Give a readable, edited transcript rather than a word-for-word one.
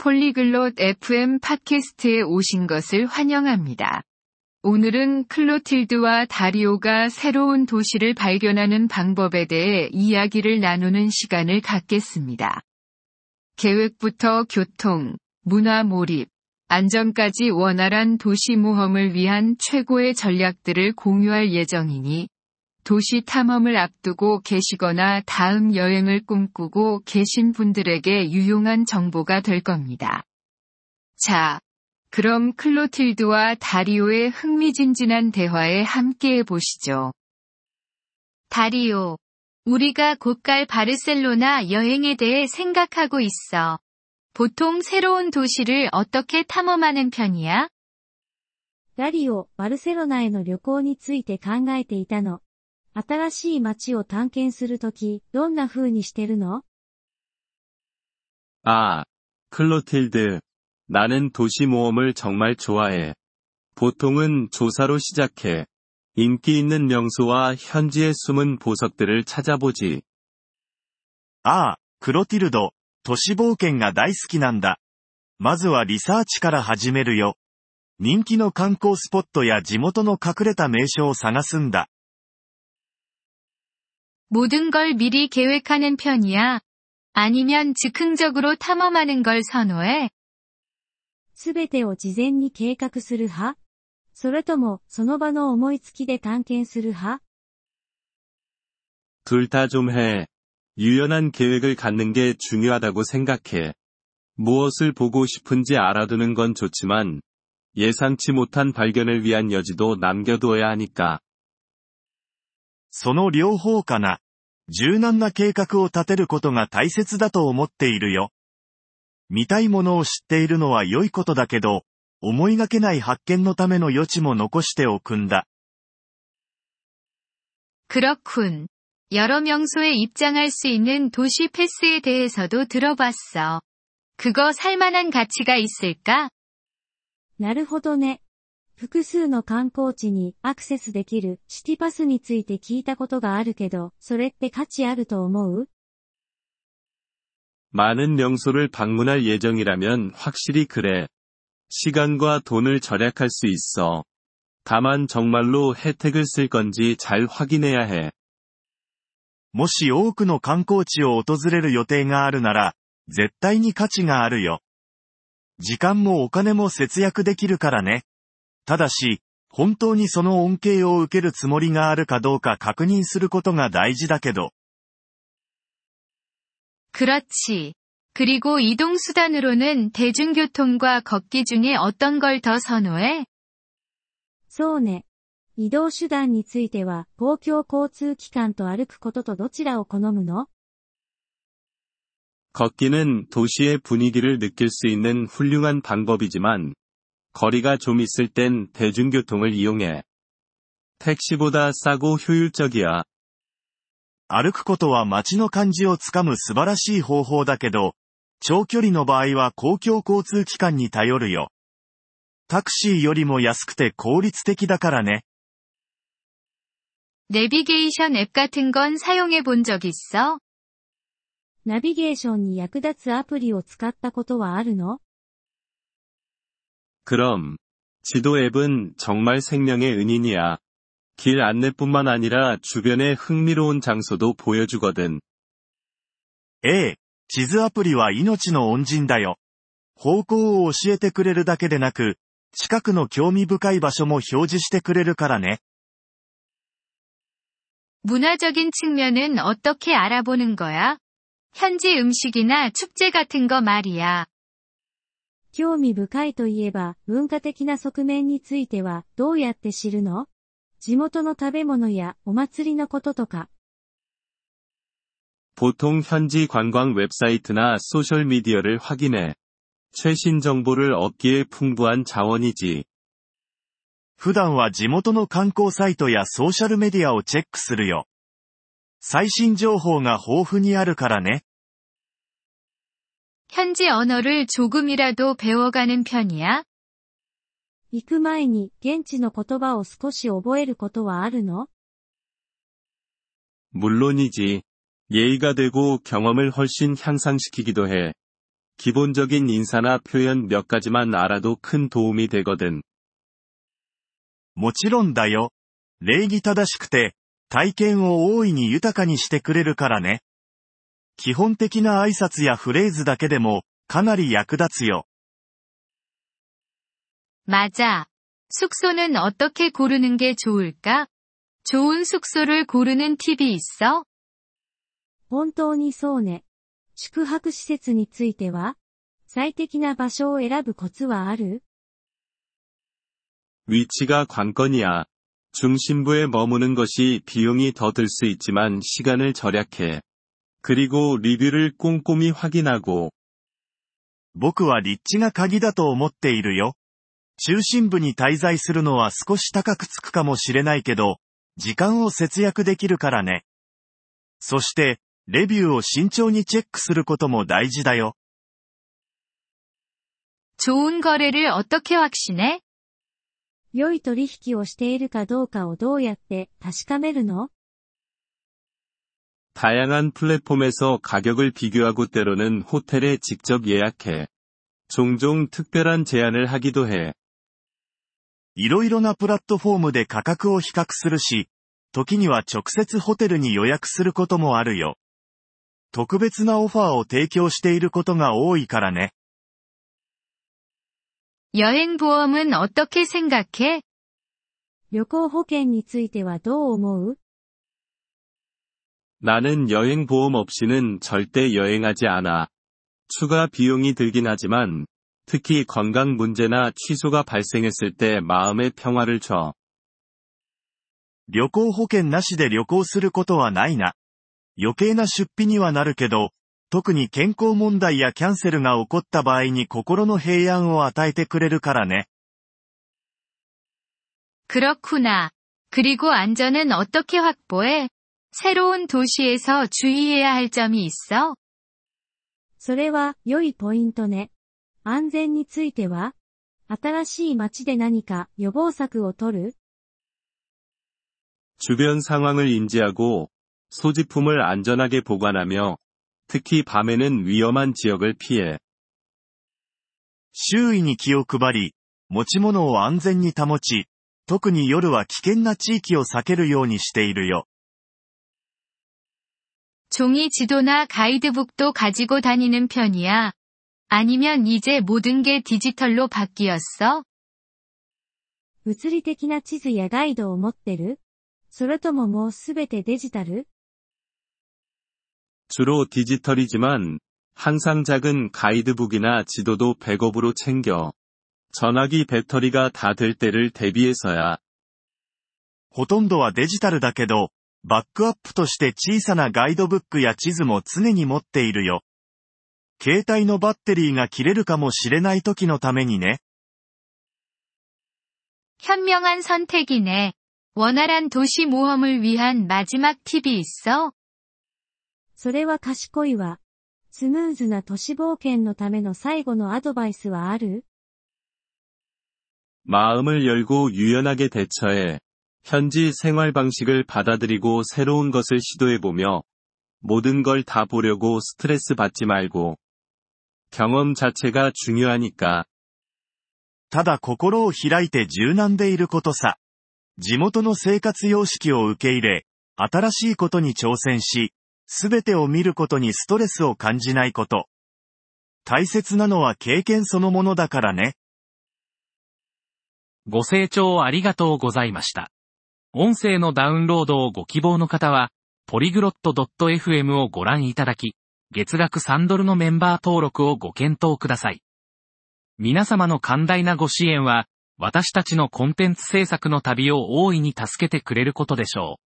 폴리글롯 FM 팟캐스트에 오신 것을 환영합니다. 오늘은 클로틸드와 다리오가 새로운 도시를 발견하는 방법에 대해 이야기를 나누는 시간을 갖겠습니다. 계획부터 교통, 문화 몰입, 안전까지 원활한 도시 모험을 위한 최고의 전략들을 공유할 예정이니 도시 탐험을 앞두고 계시거나 다음 여행을 꿈꾸고 계신 분들에게 유용한 정보가 될 겁니다. 자, 그럼 클로틸드와 다리오의 흥미진진한 대화에 함께해 보시죠. 다리오, 우리가 곧 갈 바르셀로나 여행에 대해 생각하고 있어. 보통 새로운 도시를 어떻게 탐험하는 편이야? ダリオ、バルセロナへの旅行について考えていたの。新しい街を探検するとき、どんな風にしてるの？ 아, 클로틸드. 나는 도시 모험을 정말 좋아해. 보통은 조사로 시작해. 인기 있는 명소와 현지의 숨은 보석들을 찾아보지. ああ、クロティルド、都市冒険が大好きなんだ。まずはリサーチから始めるよ。人気の観光スポットや地元の隠れた名所を探すんだ。 모든 걸 미리 계획하는 편이야? 아니면 즉흥적으로 탐험하는 걸 선호해? すべてを事前に計画する派？それとも、その場の思いつきで探検する派？ 둘 다 좀 해. 유연한 계획을 갖는 게 중요하다고 생각해. 무엇을 보고 싶은지 알아두는 건 좋지만, 예상치 못한 발견을 위한 여지도 남겨두어야 하니까. その両方かな。柔軟な計画を立てることが大切だと思っているよ。見たいものを知っているのは良いことだけど、思いがけない発見のための余地も残しておくんだ。 그렇군. 여러 명소에 입장할 수 있는 도시 패스에 대해서도 들어봤어. 그거 살만한 가치가 있을까? なるほどね。複数の観光地にアクセスできるシティパスについて聞いたことがあるけど、それって価値あると思う？ 많은 명소를 방문할 예정이라면 확실히 그래. 시간과 돈을 절약할 수 있어. 다만 정말로 혜택을 쓸 건지 잘 확인해야 해. もし多くの観光地を訪れる予定があるなら、絶対に価値があるよ。時間もお金も節約できるからね。ただし、本当にその恩恵を受けるつもりがあるかどうか確認することが大事だけど。 그렇지. 그리고 이동수단으로는 대중교통과 걷기 중에 어떤 걸 더 선호해? そうね。移動手段については、公共交通機関と歩くこととどちらを好むの？ 걷기는 도시의 분위기를 느낄 수 있는 훌륭한 방법이지만, 거리가 좀 있을 땐 대중교통을 이용해. 택시보다 싸고 효율적이야. 歩くことは街の感じをつかむ素晴らしい方法だけど、長距離の場合は公共交通機関に頼るよ。タクシーよりも安くて効率的だからね。 내비게이션 앱 같은 건 사용해 본 적 있어? ナビゲーションに役立つアプリを使ったことはあるの？ 그럼, 지도 앱은 정말 생명의 은인이야. 길 안내뿐만 아니라 주변의 흥미로운 장소도 보여주거든. ええ、地図アプリは命の恩人だよ。方向を教えてくれるだけでなく、近くの興味深い場所も表示してくれるからね。 문화적인 측면은 어떻게 알아보는 거야? 현지 음식이나 축제 같은 거 말이야. 興味深いといえば、文化的な側面については、どうやって知るの？地元の食べ物やお祭りのこととか。 보통 현지 관광 웹사이트나 소셜미디어를 확인해. 최신 정보를 얻기에 풍부한 자원이지. 普段は地元の観光サイトやソーシャルメディアをチェックするよ。最新情報が豊富にあるからね。 현지 언어를 조금이라도 배워가는 편이야? 行く前に現地の言葉を少し覚えることはあるの？ 물론이지. 예의가 되고 경험을 훨씬 향상시키기도 해. 기본적인 인사나 표현 몇 가지만 알아도 큰 도움이 되거든. もちろんだよ。礼儀正しくて、体験を大いに豊かにしてくれるからね。基本的な挨拶やフレーズだけでも、かなり役立つよ。 맞아. 숙소는 어떻게 고르는 게 좋을까? 좋은 숙소를 고르는 팁이 있어? 本当にそうね。宿泊施設については、最適な場所を選ぶコツはある？ 위치가 관건이야. 중심부에 머무는 것이 비용이 더 들 수 있지만 시간을 절약해. 그리고 리뷰를 꼼꼼히 확인하고. 僕は立地が鍵だと思っているよ。中心部に滞在するのは少し高くつくかもしれないけど、時間を節約できるからね。そして、レビューを慎重にチェックすることも大事だよ。 좋은 거래를 어떻게 확신해? 良い取引をしているかどうかをどうやって確かめるの？ 다양한 플랫폼에서 가격을 비교하고 때로는 호텔에 직접 예약해. 종종 특별한 제안을 하기도 해. いろいろなプラットフォームで価格を比較するし、時には直接ホテルに予約することもあるよ。特別なオファーを提供していることが多いからね。 여행보험은 어떻게 생각해? 旅行保険についてはどう思う？ 나는 여행보험 없이는 절대 여행하지 않아. 추가 비용이 들긴 하지만, 특히 건강 문제나 취소가 발생했을 때 마음의 평화를 줘. 旅行保険なしで旅行することはないな。余計な出費にはなるけど、特に健康問題やキャンセルが起こった場合に心の平安を与えてくれるからね。 그렇구나. 그리고 안전은 어떻게 확보해? 새로운 도시에서 주의해야 할 점이 있어? それは良いポイントね。安全については？新しい街で何か予防策を取る？ 주변 상황을 인지하고 소지품을 안전하게 보관하며 특히 밤에는 위험한 지역을 피해. 周囲に気を配り、持ち物を安全に保ち、特に夜は危険な地域を避けるようにしているよ。 종이 지도나 가이드북도 가지고 다니는 편이야? 아니면 이제 모든 게 디지털로 바뀌었어? 物理的な地図やガイドを持ってる？それとももうすべてデジタル？ 주로 디지털이지만 항상 작은 가이드북이나 지도도 백업으로 챙겨. 전화기 배터리가 다 될 때를 대비해서야. ほとんどはデジタルだけど、バックアップとして小さなガイドブックや地図も常に持っているよ。携帯のバッテリーが切れるかもしれない時のためにね。 현명한 선택이네. 원활한 도시 모험을 위한 마지막 팁이 있어? それは賢いわ。スムーズな都市冒険のための最後のアドバイスはある？ 마음을 열고 유연하게 대처해. 현지 생활 방식을 받아들이고 새로운 것을 시도해보며 모든 걸 다 보려고 스트레스 받지 말고. 경험 자체가 중요하니까. ただ心を開いて柔軟でいることさ。地元の生活様式を受け入れ、新しいことに挑戦し、すべてを見ることにストレスを感じないこと。大切なのは経験そのものだからね。 ご清聴ありがとうございました。音声のダウンロードをご希望の方は、polyglot.fm をご覧いただき、月額$3のメンバー登録をご検討ください。皆様の寛大なご支援は、私たちのコンテンツ制作の旅を大いに助けてくれることでしょう。